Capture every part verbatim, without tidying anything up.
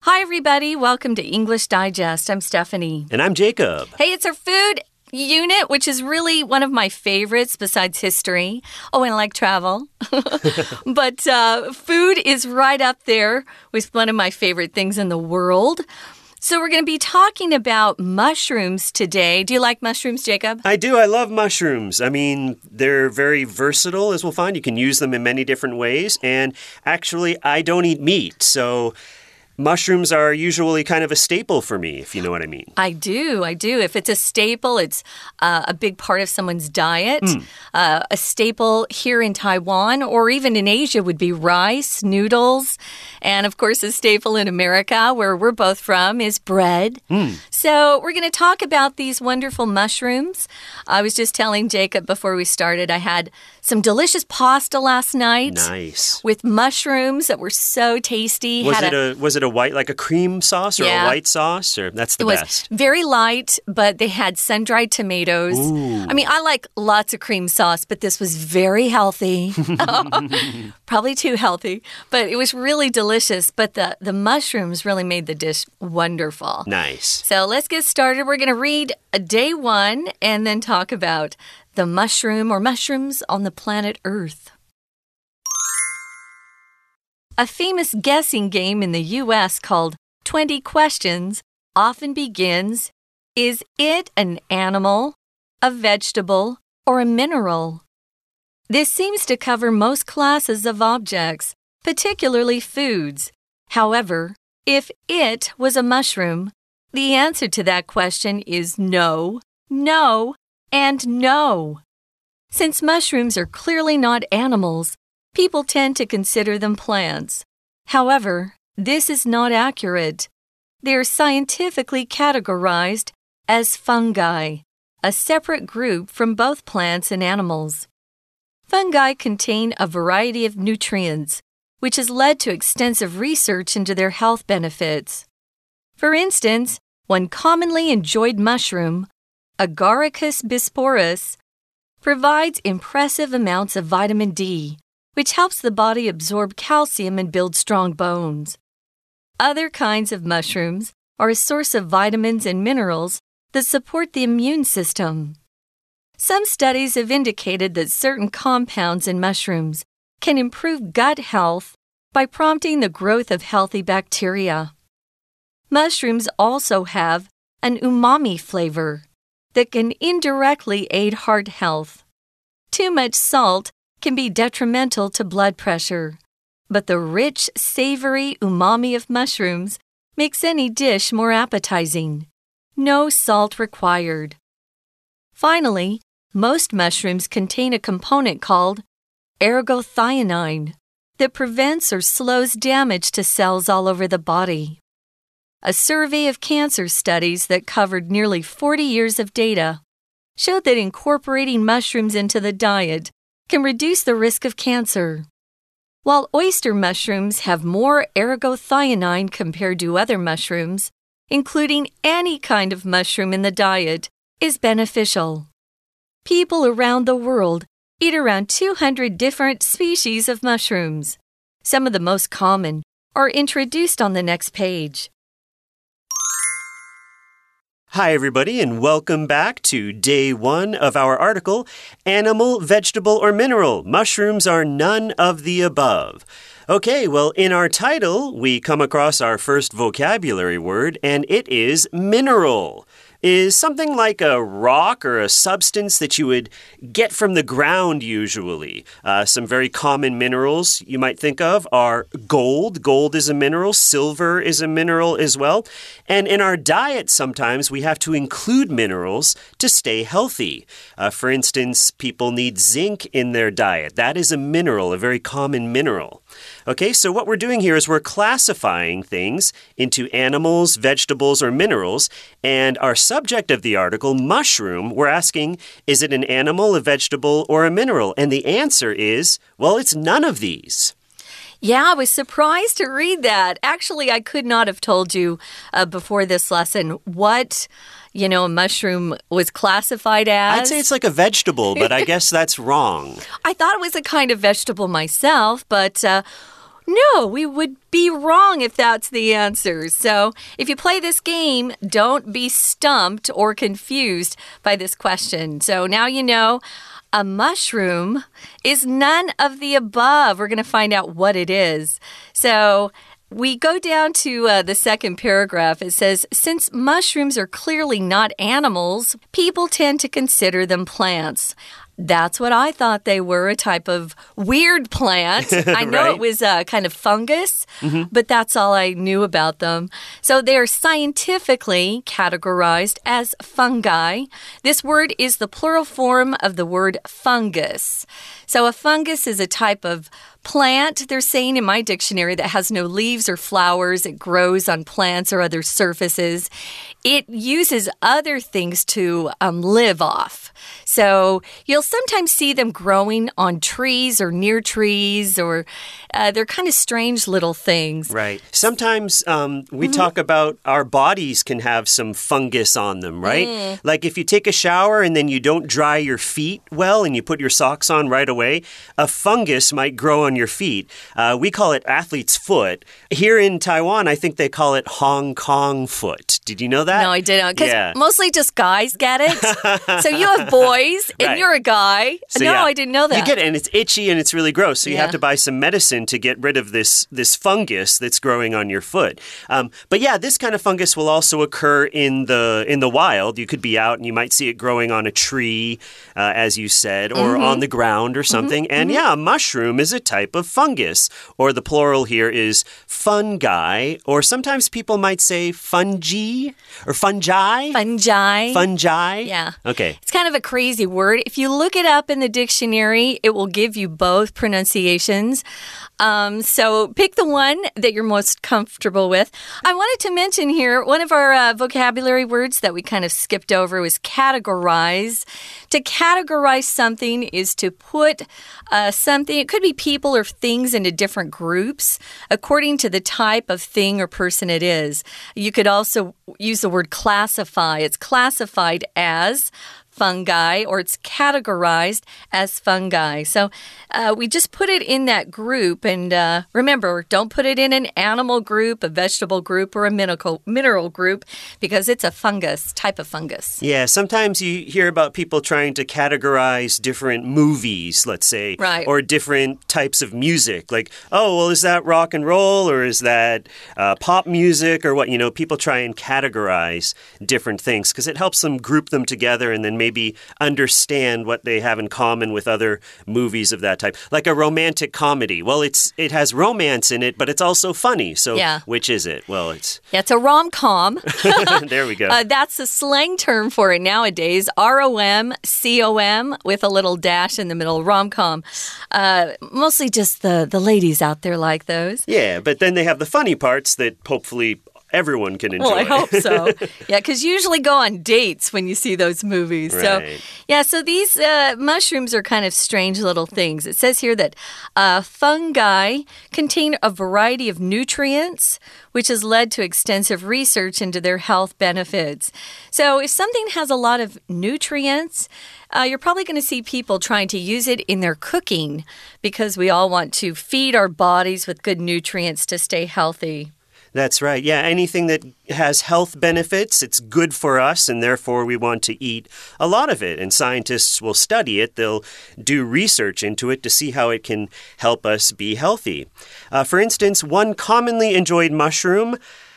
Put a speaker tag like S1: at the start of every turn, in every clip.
S1: Hi, everybody. Welcome to English Digest. I'm Stephanie.
S2: And I'm Jacob.
S1: Hey, it's our food unit, which is really one of my favorites besides history. Oh, and I like travel. But uh, food is right up there with one of my favorite things in the world. So we're going to be talking about mushrooms today. Do you like mushrooms, Jacob?
S2: I do. I love mushrooms. I mean, they're very versatile, as we'll find. You can use them in many different ways. And actually, I don't eat meat, so mushrooms are usually kind of a staple for me, if you know what I mean.
S1: I do. I do. If it's a staple, it's uh, a big part of someone's diet. Mm. Uh, a staple here in Taiwan or even in Asia would be rice, noodles, and of course a staple in America, where we're both from, is bread. Mm. So we're going to talk about these wonderful mushrooms. I was just telling Jacob before we started, I had some delicious pasta last night.
S2: Nice.
S1: With mushrooms that were so tasty.
S2: Was
S1: had
S2: it a, a was it a white, like a cream sauce or
S1: yeah.
S2: a white sauce? Or that's the
S1: it was
S2: best.
S1: Very light, but they had sun-dried tomatoes.
S2: Ooh.
S1: I mean, I like lots of cream sauce, but this was very healthy. Probably too healthy, but it was really delicious. But the, the mushrooms really made the dish wonderful.
S2: Nice.
S1: So let's get started. We're going to read a day one and then talk about the mushroom or mushrooms on the planet Earth. A famous guessing game in the U S called twenty questions often begins, is it an animal, a vegetable, or a mineral? This seems to cover most classes of objects, particularly foods. However, if it was a mushroom, the answer to that question is no, no, and no. Since mushrooms are clearly not animals, people tend to consider them plants. However, this is not accurate. They are scientifically categorized as fungi, a separate group from both plants and animals. Fungi contain a variety of nutrients, which has led to extensive research into their health benefits. For instance, one commonly enjoyed mushroom, Agaricus bisporus, provides impressive amounts of vitamin D, which helps the body absorb calcium and build strong bones. Other kinds of mushrooms are a source of vitamins and minerals that support the immune system. Some studies have indicated that certain compounds in mushrooms can improve gut health by prompting the growth of healthy bacteria. Mushrooms also have an umami flavor that can indirectly aid heart health. Too much salt can be detrimental to blood pressure, but the rich, savory umami of mushrooms makes any dish more appetizing. No salt required. Finally, most mushrooms contain a component called ergothioneine that prevents or slows damage to cells all over the body. A survey of cancer studies that covered nearly forty years of data showed that incorporating mushrooms into the diet can reduce the risk of cancer. While oyster mushrooms have more ergothioneine compared to other mushrooms, including any kind of mushroom in the diet is beneficial. People around the world eat around two hundred different species of mushrooms. Some of the most common are introduced on the next page.
S2: Hi, everybody, and welcome back to day one of our article, Animal, Vegetable, or Mineral? Mushrooms are none of the above. Okay, well, in our title, we come across our first vocabulary word, and it is mineral. Is something like a rock or a substance that you would get from the ground usually. Uh, some very common minerals you might think of are gold. Gold is a mineral. Silver is a mineral as well. And in our diet, sometimes we have to include minerals to stay healthy. Uh, for instance, people need zinc in their diet. That is a mineral, a very common mineral. Okay, so what we're doing here is we're classifying things into animals, vegetables, or minerals, and our subject of the article, mushroom, we're asking, is it an animal, a vegetable, or a mineral? And the answer is, well, it's none of these.
S1: Yeah, I was surprised to read that. Actually, I could not have told you uh, before this lesson what, you know, a mushroom was classified as.
S2: I'd say it's like a vegetable, but I guess that's wrong.
S1: I thought it was a kind of vegetable myself, but... Uh, No, we would be wrong if that's the answer. So if you play this game, don't be stumped or confused by this question. So now you know a mushroom is none of the above. We're going to find out what it is. So we go down to uh, the second paragraph. It says, since mushrooms are clearly not animals, people tend to consider them plants. That's what I thought they were, a type of weird plant. I know
S2: right?
S1: it was a kind of fungus,
S2: mm-hmm.
S1: but that's all I knew about them. So they are scientifically categorized as fungi. This word is the plural form of the word fungus. So a fungus is a type of plant, they're saying in my dictionary, that has no leaves or flowers. It grows on plants or other surfaces. It uses other things to um, live off. So you'll sometimes see them growing on trees or near trees, or uh, they're kind of strange little things.
S2: Right. Sometimes um, we mm-hmm. talk about our bodies can have some fungus on them, right? Mm. Like if you take a shower and then you don't dry your feet well and you put your socks on right away, a fungus might grow on your feet. Uh, we call it athlete's foot. Here in Taiwan, I think they call it Hong Kong foot. Did you know that?
S1: No, I didn't. Because
S2: yeah.
S1: mostly just guys get it. So you have boys and
S2: right.
S1: you're a guy.
S2: So,
S1: no,
S2: yeah.
S1: I didn't know that.
S2: You get it, and it's itchy and it's really gross. So you
S1: yeah.
S2: have to buy some medicine to get rid of this, this fungus that's growing on your foot. Um, but yeah, this kind of fungus will also occur in the in the wild. You could be out and you might see it growing on a tree, uh, as you said, or
S1: mm-hmm.
S2: on the ground or something. Mm-hmm. And yeah, a mushroom is a type of fungus. Or the plural here is fungi. Or sometimes people might say fungi or fungi.
S1: Fungi.
S2: Fungi.
S1: Yeah.
S2: Okay.
S1: It's kind of a crazy word. If you look it up in the dictionary, it will give you both pronunciations. Um, so pick the one that you're most comfortable with. I wanted to mention here, one of our uh, vocabulary words that we kind of skipped over was categorize. To categorize something is to put uh, something, it could be people or things, into different groups according to the type of thing or person it is. You could also use the word classify. It's classified as fungi, or it's categorized as fungi. So uh, we just put it in that group. And uh, remember, don't put it in an animal group, a vegetable group, or a mineral, mineral group, because it's a fungus, type of fungus.
S2: Yeah, sometimes you hear about people trying to categorize different movies, let's say,
S1: right.
S2: or different types of music. Like, oh, well, is that rock and roll, or is that uh, pop music, or what? You know, people try and categorize different things because it helps them group them together and then maybe Maybe understand what they have in common with other movies of that type. Like a romantic comedy. Well, it's it has romance in it, but it's also funny. So
S1: yeah.
S2: which is it? Well, it's...
S1: Yeah, it's a rom-com.
S2: There we go.
S1: Uh, that's the slang term for it nowadays. R O M C O M with a little dash in the middle. Rom-com. Uh, mostly just the, the ladies out there like those.
S2: Yeah, but then they have the funny parts that hopefully everyone can enjoy.
S1: Well, I hope so. Yeah, because you usually go on dates when you see those movies.
S2: Right.
S1: So, yeah, so these uh, mushrooms are kind of strange little things. It says here that uh, fungi contain a variety of nutrients, which has led to extensive research into their health benefits. So if something has a lot of nutrients, Uh, you're probably going to see people trying to use it in their cooking, because we all want to feed our bodies with good nutrients to stay healthy.
S2: That's right. Yeah, anything that has health benefits, it's good for us, and therefore we want to eat a lot of it. And scientists will study it. They'll do research into it to see how it can help us be healthy. Uh, for instance, one commonly enjoyed mushroom,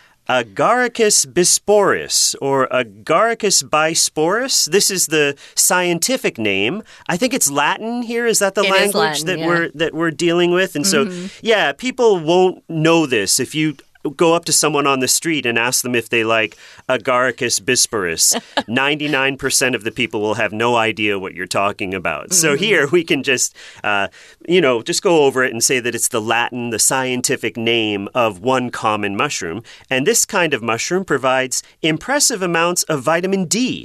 S2: Agaricus bisporus, or Agaricus bisporus. This is the scientific name. I think it's Latin here. Is that the
S1: it
S2: language
S1: Latin,
S2: that
S1: yeah.
S2: we're that we're dealing with? And
S1: mm-hmm.
S2: so, yeah, people won't know this if you go up to someone on the street and ask them if they like Agaricus bisporus. ninety-nine percent of the people will have no idea what you're talking about. Mm-hmm. So here we can just, uh, you know, just go over it and say that it's the Latin, the scientific name of one common mushroom. And this kind of mushroom provides impressive amounts of vitamin D,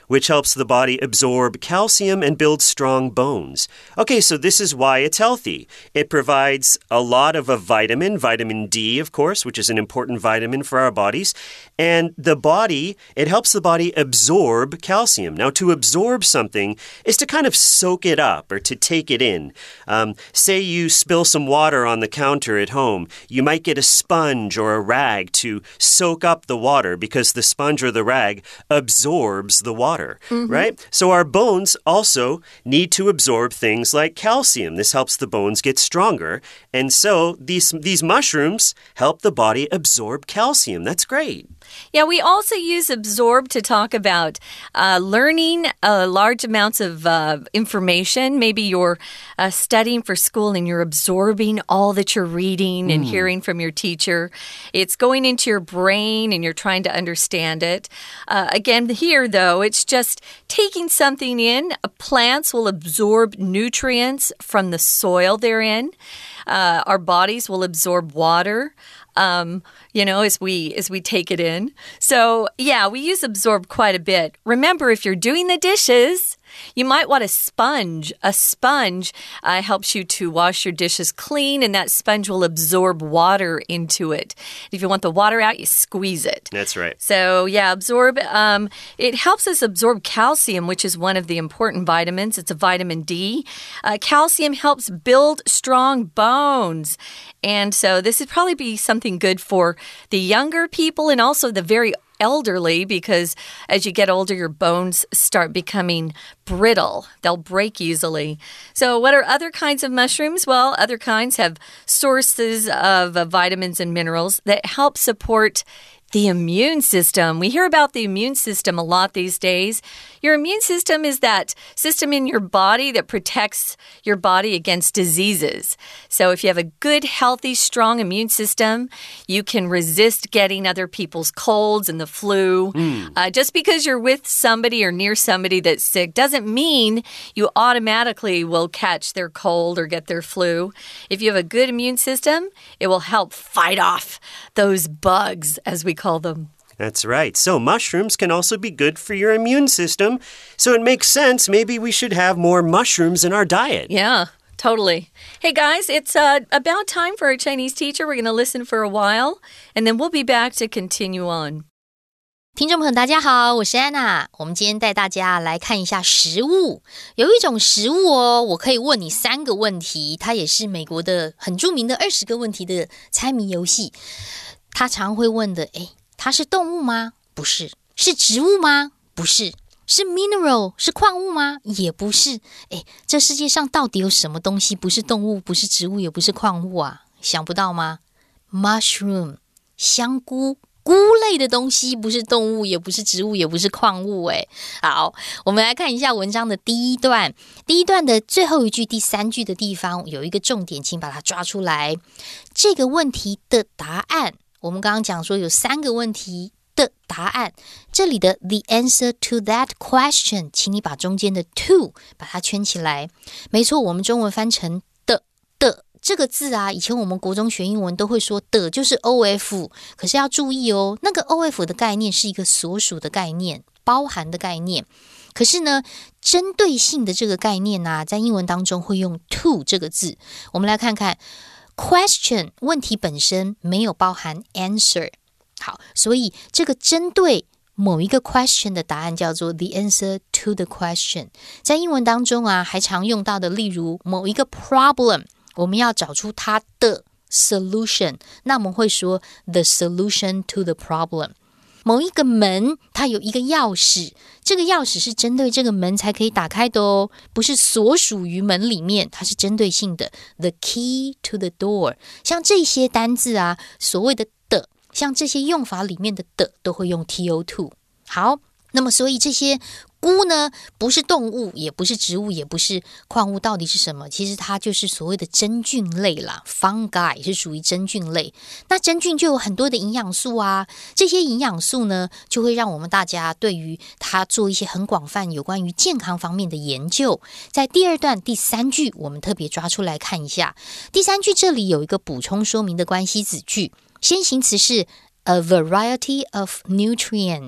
S2: which helps the body absorb calcium and build strong bones. Okay, so this is why it's healthy. It provides a lot of a vitamin, vitamin D, of course, which is an important vitamin for our bodies. And the body, it helps the body absorb calcium. Now, to absorb something is to kind of soak it up or to take it in. Um, say you spill some water on the counter at home. You might get a sponge or a rag to soak up the water because the sponge or the rag absorbs the water, mm-hmm. right? So our bones also need to absorb things like calcium. This helps the bones get stronger. And so these, these mushrooms help the body absorb calcium. That's great.
S1: Yeah, we also use absorb to talk about uh, learning uh, large amounts of uh, information. Maybe you're uh, studying for school and you're absorbing all that you're reading and mm. hearing from your teacher. It's going into your brain and you're trying to understand it. Uh, again, here, though, it's just taking something in. Plants will absorb nutrients from the soil they're in. Uh, our bodies will absorb water. Um, you know, as we as we take it in. So, yeah, we use absorb quite a bit. Remember, if you're doing the dishes, you might want a sponge. A sponge uh, helps you to wash your dishes clean, and that sponge will absorb water into it. If you want the water out, you squeeze it.
S2: That's right.
S1: So, yeah, absorb. Um, it helps us absorb calcium, which is one of the important vitamins. It's a vitamin D. Uh, calcium helps build strong bones. And so this would probably be something good for the younger people and also the very elderly, because as you get older, your bones start becoming brittle. They'll break easily. So what are other kinds of mushrooms? Well, other kinds have sources of uh, vitamins and minerals that help support the immune system. We hear about the immune system a lot these days. Your immune system is that system in your body that protects your body against diseases. So if you have a good, healthy, strong immune system, you can resist getting other people's colds and the flu. Mm. Uh, just because you're with somebody or near somebody that's sick doesn't mean you automatically will catch their cold or get their flu. If you have a good immune system, it will help fight off those bugs, as we call them.
S2: That's right. So mushrooms can also be good for your immune system. So it makes sense. Maybe we should have more mushrooms in our diet.
S1: Yeah, totally. Hey, guys, it's uh, about time for our Chinese teacher. We're going to listen for a while, and then we'll be back to continue on.
S3: 听众朋友大家好，我是安娜。我们今天带大家来看一下食物。有一种食物哦，我可以问你三个问题，它也是美国的很著名的二十个问题的猜谜遊戲。他常會問的，誒，它是動物嗎？不是。是植物嗎？不是。是 mineral 是礦物嗎？也不是。誒，這世界上到底有什麼東西不是動物，不是植物，也不是礦物啊？想不到嗎？ Mushroom 香菇。菇類的東西不是動物，也不是植物，也不是礦物誒。好，我們來看一下文章的第一段。第一段的最後一句第三句的地方有一個重點，請把它抓出來。這個問題的答案，我們剛剛講說有三個問題的答案，這裡的 the answer to that question， 請你把中間的 to 把它圈起來。沒錯，我們中文翻成的的這個字啊，以前我們國中學英文都會說的就是 O F， 可是要注意哦，那個 O F 的概念是一個所屬的概念，包含的概念。可是呢，針對性的這個概念啊，在英文當中會用 to 這個字。我們來看看 question 問題本身沒有包含 answer。好，所以這個針對某一個 question 的答案叫做 the answer to the question。在英文當中啊，還常用到的，例如某一個 problem。我們要找出它的 solution， 那我們會說 the solution to the problem。 某一個門，它有一個鑰匙，這個鑰匙是針對這個門才可以打開的哦，不是所屬於門裡面，它是針對性的 the key to the door。 像這些單字啊，所謂的的，像這些用法裡面的的都會用 T O two。 好，那麼所以這些菇呢，不是動物，也不是植物，也不是礦物，到底是什麼？其實它就是所謂的真菌類啦 ，fungi 是屬於真菌類。那真菌就有很多的營養素啊，這些營養素呢，就會讓我們大家對於它做一些很廣泛有關於健康方面的研究。在第二段第三句，我們特別抓出來看一下。第三句這裡有一個補充說明的關係子句，先行詞是 a variety of nutrients。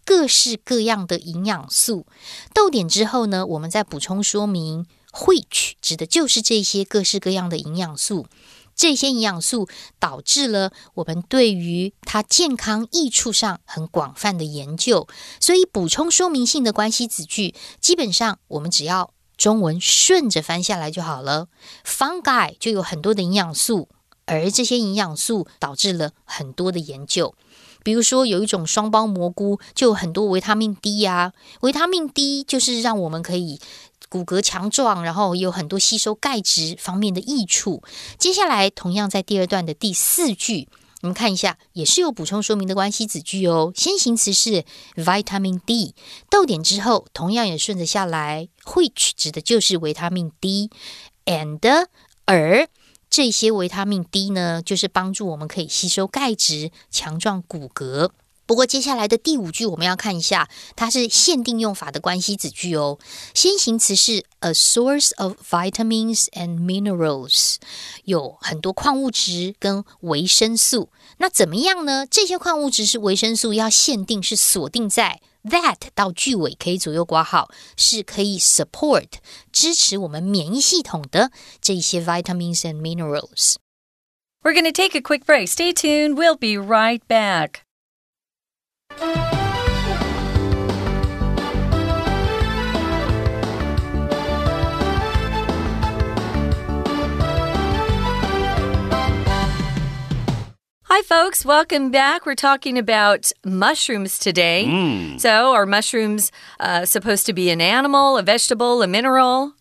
S3: 各式各樣的營養素。逗點之後呢，我們再補充說明 which 指的就是這些各式各樣的營養素。這些營養素導致了我們對於它健康益處上很廣泛的研究，所以補充說明性的關係子句，基本上我們只要中文順着翻下來就好了。Fungi 就有很多的營養素，而這些營養素導致了很多的研究。比如說有一種雙胞蘑菇就有很多維他命 D 啊，維他命 D 就是讓我們可以骨骼強壯，然後有很多吸收鈣質方面的益處。接下來同樣在第二段的第四句，我們看一下，也是有補充說明的關係子句哦。先行詞是 vitamin D， 逗點之後同樣也順着下來 which 指的就是維他命 D and 而這些維他命 D 呢，就是幫助我們可以吸收鈣質，強壯骨骼。不過接下來的第五句我們要看一下，它是限定用法的關係子句哦。先行詞是 a source of vitamins and minerals， 有很多礦物質跟維生素。那怎麼樣呢？這些礦物質是維生素要限定是鎖定在 that 到句尾可以左右括號，是可以 support 支持我們免疫系統的這些 vitamins and minerals。
S1: We're going to take a quick break. Stay tuned. We'll be right back. Hi, folks. Welcome back. We're talking about mushrooms today.
S2: Mm.
S1: So, are mushrooms uh, supposed to be an animal, a vegetable, a mineral?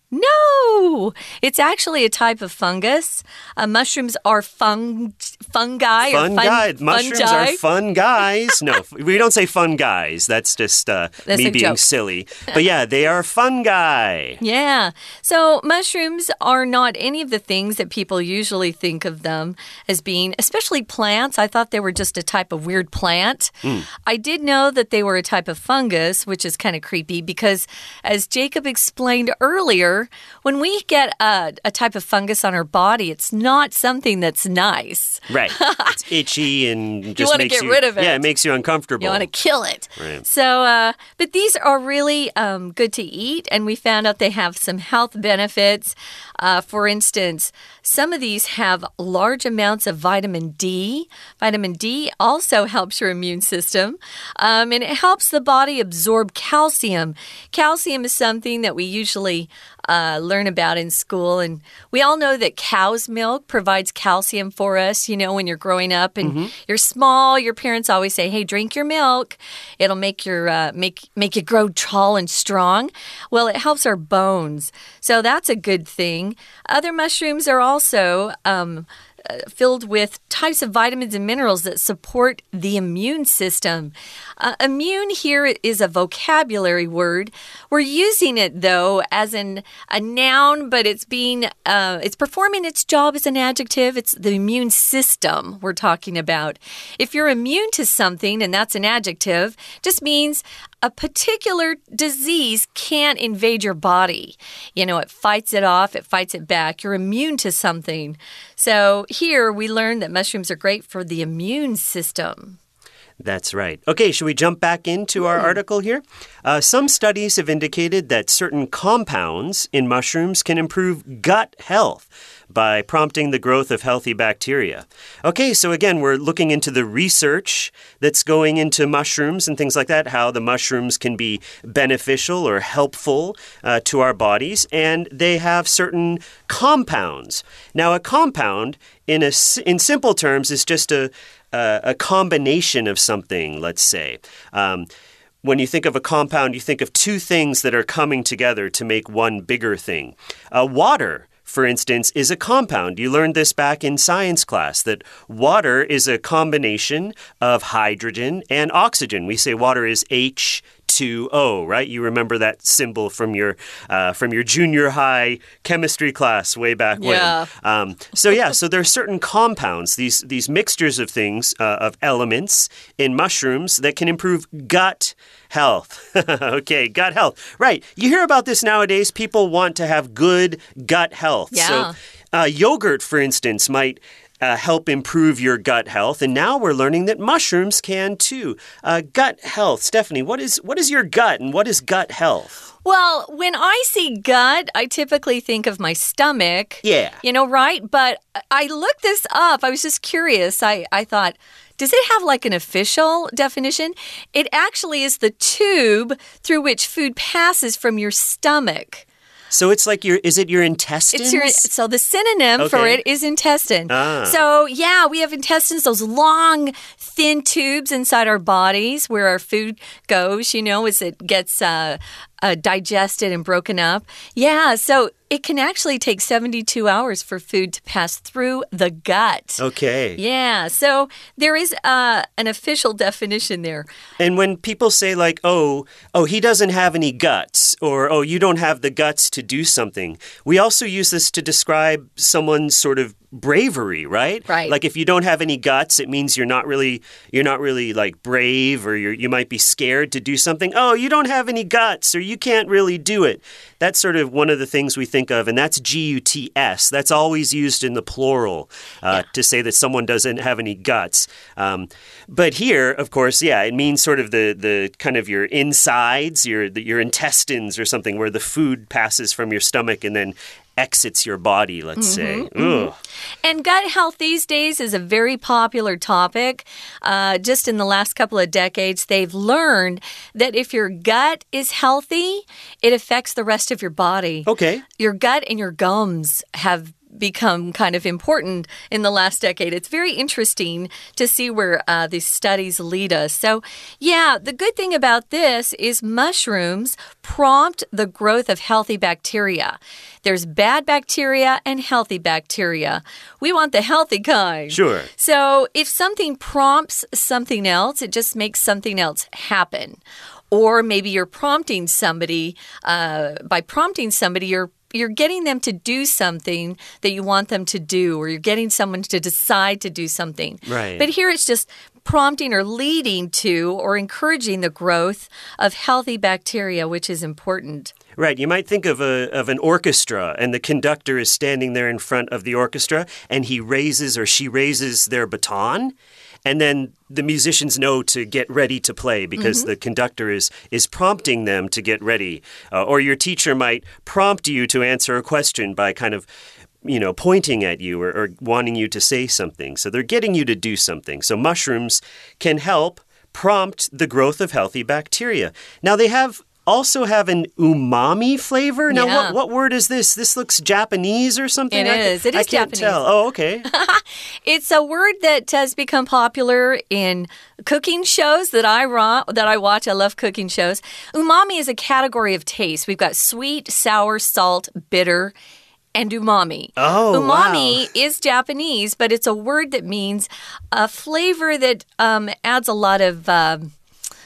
S1: No! It's actually a type of fungus. Uh, mushrooms are fung fungi.
S2: Fun
S1: or fun,
S2: guy. Mushrooms
S1: fungi.
S2: are fun guys. No, we don't say fun guys. That's just uh,
S1: That's
S2: me
S1: a
S2: being
S1: joke.
S2: silly. But yeah, they are fungi.
S1: Yeah. So mushrooms are not any of the things that people usually think of them as being, especially plants. I thought they were just a type of weird plant.
S2: Mm.
S1: I did know that they were a type of fungus, which is kind of creepy because, as Jacob explained earlier, when we get a, a type of fungus on our body, it's not something that's nice.
S2: Right. It's itchy and just
S1: you want to
S2: makes
S1: get
S2: you,
S1: rid of it.
S2: Yeah, it makes you uncomfortable.
S1: You want to kill it.
S2: Right.
S1: So, uh, but these are really um, good to eat, and we found out they have some health benefits. Uh, for instance, some of these have large amounts of vitamin D. Vitamin D also helps your immune system, um, and it helps the body absorb calcium. Calcium is something that we usually uh, learn about in school, and we all know that cow's milk provides calcium for us. You know, when you're growing up and mm-hmm. you're small, your parents always say, "Hey, drink your milk; it'll make your uh, make make you grow tall and strong." Well, it helps our bones, so that's a good thing. Other mushrooms are also um, uh, filled with types of vitamins and minerals that support the immune system. Uh, immune here is a vocabulary word. We're using it, though, as an, a noun, but it's being uh, it's performing its job as an adjective. It's the immune system we're talking about. If you're immune to something, and that's an adjective, just means a particular disease can't invade your body. You know, it fights it off, it fights it back. You're immune to something. So here we learned that mushrooms are great for the immune system.
S2: That's right. Okay, should we jump back into our mm. article here? Uh, some studies have indicated that certain compounds in mushrooms can improve gut health by prompting the growth of healthy bacteria. Okay, so again, we're looking into the research that's going into mushrooms and things like that, how the mushrooms can be beneficial or helpful uh, to our bodies, and they have certain compounds. Now, a compound, in, a, in simple terms, is just a Uh, a combination of something, let's say. Um, when you think of a compound, you think of two things that are coming together to make one bigger thing. Uh, water, for instance, is a compound. You learned this back in science class, that water is a combination of hydrogen and oxygen. We say water is H two O, right? You remember that symbol from your uh, from your junior high chemistry class way back when.
S1: Yeah.
S2: Um, so yeah, so there are certain compounds, these these mixtures of things, uh, of elements in mushrooms that can improve gut health. Okay, gut health. Right. You hear about this nowadays. People want to have good gut health.
S1: Yeah.
S2: So uh, yogurt, for instance, might uh, help improve your gut health. And now we're learning that mushrooms can too. Uh, gut health. Stephanie, what is, what is your gut and what is gut health?
S1: Well, when I see gut, I typically think of my stomach.
S2: Yeah.
S1: You know, right? But I looked this up. I was just curious. I, I thought, does it have like an official definition? It actually is the tube through which food passes from your stomach.
S2: So it's like your, is it your intestines?
S1: It's your, so the synonym okay. for it is intestine.
S2: Ah.
S1: So yeah, we have intestines, those long, thin tubes inside our bodies where our food goes, you know, as it gets uh, uh, digested and broken up. Yeah, so it can actually take seventy-two hours for food to pass through the gut.
S2: Okay.
S1: Yeah, so there is uh, an official definition there.
S2: And when people say like, oh, oh, he doesn't have any guts, or oh, you don't have the guts to do something, we also use this to describe someone's sort of bravery, right?
S1: Right.
S2: Like if you don't have any guts, it means you're not really, you're not really like brave, or you're, you might be scared to do something. Oh, you don't have any guts, or you can't really do it. That's sort of one of the things we think of, and that's G U T S. That's always used in the plural uh, yeah. to say that someone doesn't have any guts. Um, but here, of course, yeah, it means sort of the the kind of your insides, your the, your intestines or something, where the food passes from your stomach and then exits your body, let's
S1: mm-hmm,
S2: say. Mm-hmm. Ugh.
S1: And gut health these days is a very popular topic. Uh, just in the last couple of decades, they've learned that if your gut is healthy, it affects the rest of your body.
S2: Okay.
S1: Your gut and your gums have become kind of important in the last decade. It's very interesting to see where uh, these studies lead us. So, yeah, the good thing about this is mushrooms prompt the growth of healthy bacteria. There's bad bacteria and healthy bacteria. We want the healthy kind.
S2: Sure.
S1: So, if something prompts something else, it just makes something else happen. Or maybe you're prompting somebody, uh, by prompting somebody, you're You're getting them to do something that you want them to do, or you're getting someone to decide to do something.
S2: Right.
S1: But here it's just prompting or leading to or encouraging the growth of healthy bacteria, which is important.
S2: Right. You might think of a of an orchestra, and the conductor is standing there in front of the orchestra, and he raises or she raises their baton. And then the musicians know to get ready to play because mm-hmm. the conductor is is prompting them to get ready. Uh, or your teacher might prompt you to answer a question by kind of, you know, pointing at you or, or wanting you to say something. So they're getting you to do something. So mushrooms can help prompt the growth of healthy bacteria. Now they have also have an umami flavor. Now,
S1: yeah.
S2: what, what word is this? This looks Japanese or something?
S1: It
S2: I,
S1: is. It is
S2: I can't
S1: Japanese.
S2: tell. Oh, okay.
S1: It's a word that has become popular in cooking shows that I that I watch. I love cooking shows. Umami is a category of taste. We've got sweet, sour, salt, bitter, and umami.
S2: Oh,
S1: umami
S2: wow.
S1: is Japanese, but it's a word that means a flavor that um, adds a lot of... Um,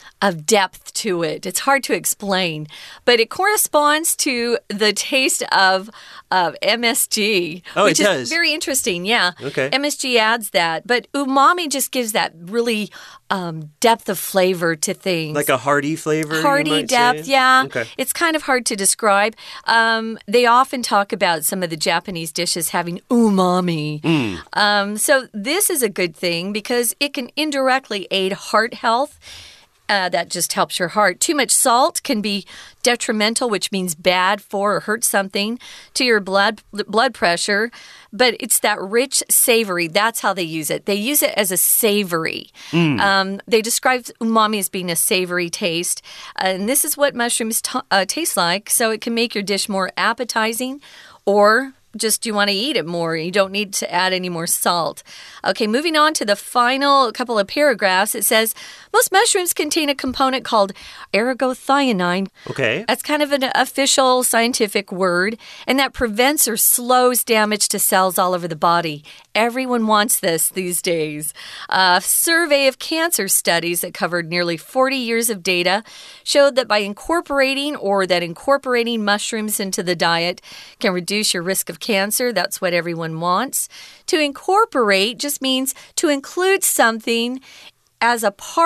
S1: of depth to it. It's hard to explain, but it corresponds to the taste of uh, M S G,
S2: oh,
S1: which
S2: it
S1: is
S2: does.
S1: very interesting. Yeah,
S2: okay.
S1: M S G adds that, but umami just gives that really um, depth of flavor to things.
S2: Like a hearty flavor?
S1: Hearty
S2: you might
S1: depth,
S2: say?
S1: yeah.
S2: Okay.
S1: It's kind of hard to describe. Um, they often talk about some of the Japanese dishes having umami.
S2: Mm.
S1: Um, so this is a good thing because it can indirectly aid heart health. Uh, that just helps your heart. Too much salt can be detrimental, which means bad for or hurt something to your blood blood pressure. But it's that rich savory. That's how they use it. They use it as a savory. Mm. Um, they describe umami as being a savory taste. And this is what mushrooms t- uh, taste like. So it can make your dish more appetizing or just you want to eat it more. You don't need to add any more salt. Okay, moving on to the final couple of paragraphs. It says, most mushrooms contain a component called ergothioneine.
S2: Okay.
S1: That's kind of an official scientific word, and that prevents or slows damage to cells all over the body. Everyone wants this these days. A survey of cancer studies that covered nearly forty years of data showed that by incorporating or that incorporating mushrooms into the diet can reduce your risk of cancer. That's what everyone wants. To incorporate just means to include something as a part of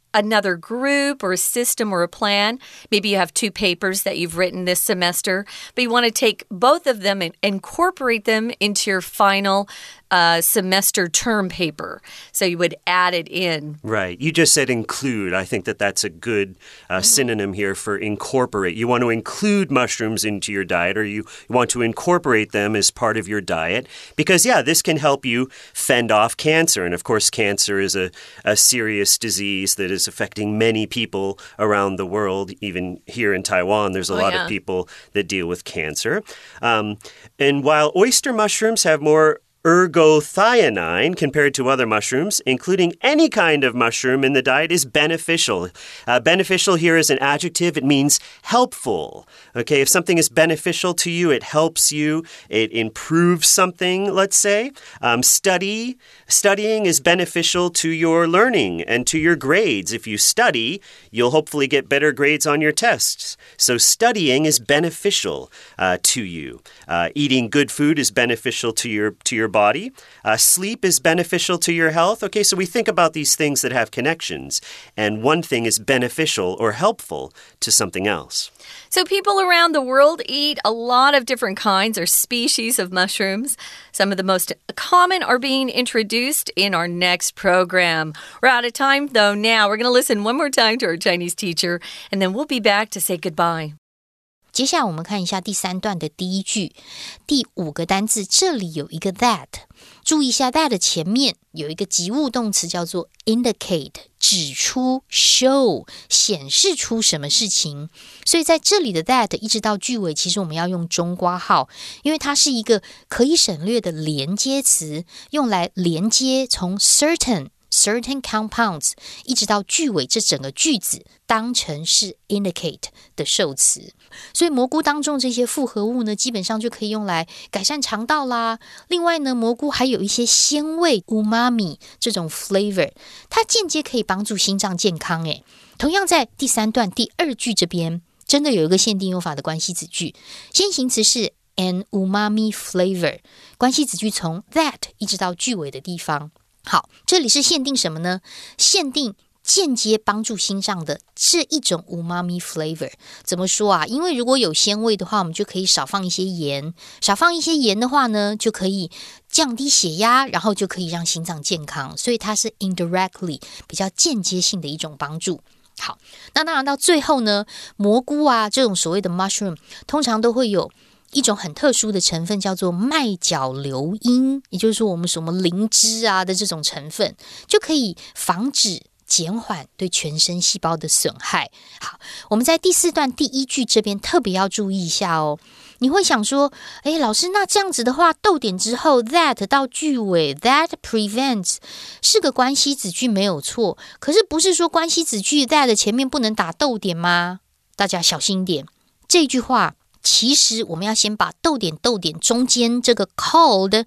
S1: another group or a system or a plan. Maybe you have two papers that you've written this semester, but you want to take both of them and incorporate them into your final uh, semester term paper. So you would add it in.
S2: Right. You just said include. I think that that's a good uh, mm-hmm. synonym here for incorporate. You want to include mushrooms into your diet, or you want to incorporate them as part of your diet because, yeah, this can help you fend off cancer. And, of course, cancer is a, a serious disease that is affecting many people around the world. Even here in Taiwan, there's a oh, lot yeah. of people that deal with cancer. Um, and while oyster mushrooms have more ergothioneine compared to other mushrooms, including any kind of mushroom in the diet, is beneficial. Uh, beneficial here is an adjective. It means helpful. Okay, if something is beneficial to you, it helps you. It improves something, let's say. Um, study. Studying is beneficial to your learning and to your grades. If you study, you'll hopefully get better grades on your tests. So studying is beneficial uh, to you. Uh, eating good food is beneficial to your to your body. Uh, sleep is beneficial to your health. Okay, so we think about these things that have connections, and one thing is beneficial or helpful to something else.
S1: So people around the world eat a lot of different kinds or species of mushrooms. Some of the most common are being introduced in our next program. We're out of time, though, now. We're going to listen one more time to our Chinese teacher, and then we'll be back to say goodbye.
S3: 接下来我们看一下第三段的第一句，第五個單字，這裡有一個 that， 注意一下 that 前面有一個及物動詞叫做 indicate， 指出 show， 顯示出什麼事情。所以在這裡的 that 一直到句尾，其實我們要用中括號，因為它是一個可以省略的連接詞，用來連接從 certain certain compounds 一直到句尾，這整個句子當成是 indicate 的受詞。所以蘑菇當中這些複合物呢，基本上就可以用來改善腸道啦。另外呢，蘑菇還有一些鮮味 umami 這種 flavor， 它間接可以幫助心臟健康誒。同樣在第三段第二句這邊，真的有一個限定用法的關係子句，先行詞是 an umami flavor， 關係子句從 that 一直到句尾的地方。好，這裡是限定什麼呢？限定間接幫助心臟的這一種 umami flavor。怎麼說啊？因為如果有鮮味的話，我們就可以少放一些鹽，少放一些鹽的話呢，就可以降低血壓，然後就可以讓心臟健康，所以它是 indirectly 比較間接性的一種幫助。好，那當然到最後呢，蘑菇啊這種所謂的 mushroom 通常都會有一種很特殊的成分叫做麥角硫因，也就是說我們什麼靈芝啊的這種成分，就可以防止減緩對全身細胞的損害。好，我們在第四段第一句這邊特別要注意一下哦。你會想說，誒，老師，那這樣子的話，逗點之後 that 到句尾 that prevents 是個關係子句沒有錯，可是不是說關係子句 that 前面不能打逗點嗎？大家小心一點，這句話其實我們要先把逗點逗點中間這個 called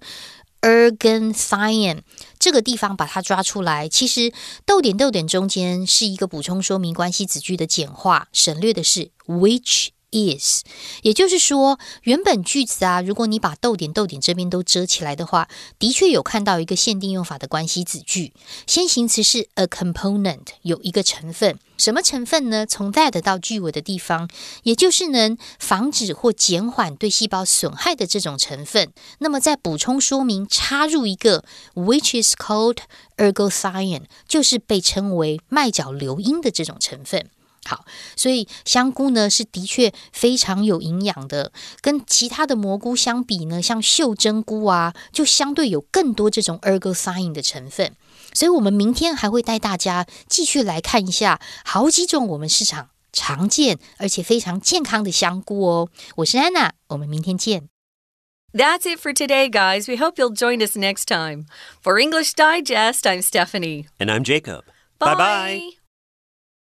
S3: ergothioneine 這個地方把它抓出來。其實逗點逗點中間是一個補充說明關係子句的簡化，省略的是 which is， 也就是說原本句子啊，如果你把逗點逗點這邊都遮起來的話，的確有看到一個限定用法的關係子句，先行詞是 a component， 有一個成分。什麼成分呢？從 that 到句尾的地方，也就是能防止或減緩對細胞損害的這種成分。那麼再補充說明，插入一個 which is called ergothioneine， 就是被稱為麥角硫因的這種成分。好，所以香菇呢是的確非常有營養的，跟其他的蘑菇相比呢，像秀珍菇啊，就相對有更多這種 ergothioneine 的成分。所以我們明天還會帶大家繼續來看一下好幾種我們市場常見而且非常健康的香菇哦。我是安娜，我們明天見。
S1: That's it for today, guys. We hope you'll join us next time. For English Digest, I'm Stephanie.
S2: And I'm Jacob.
S1: Bye.
S2: Bye-bye.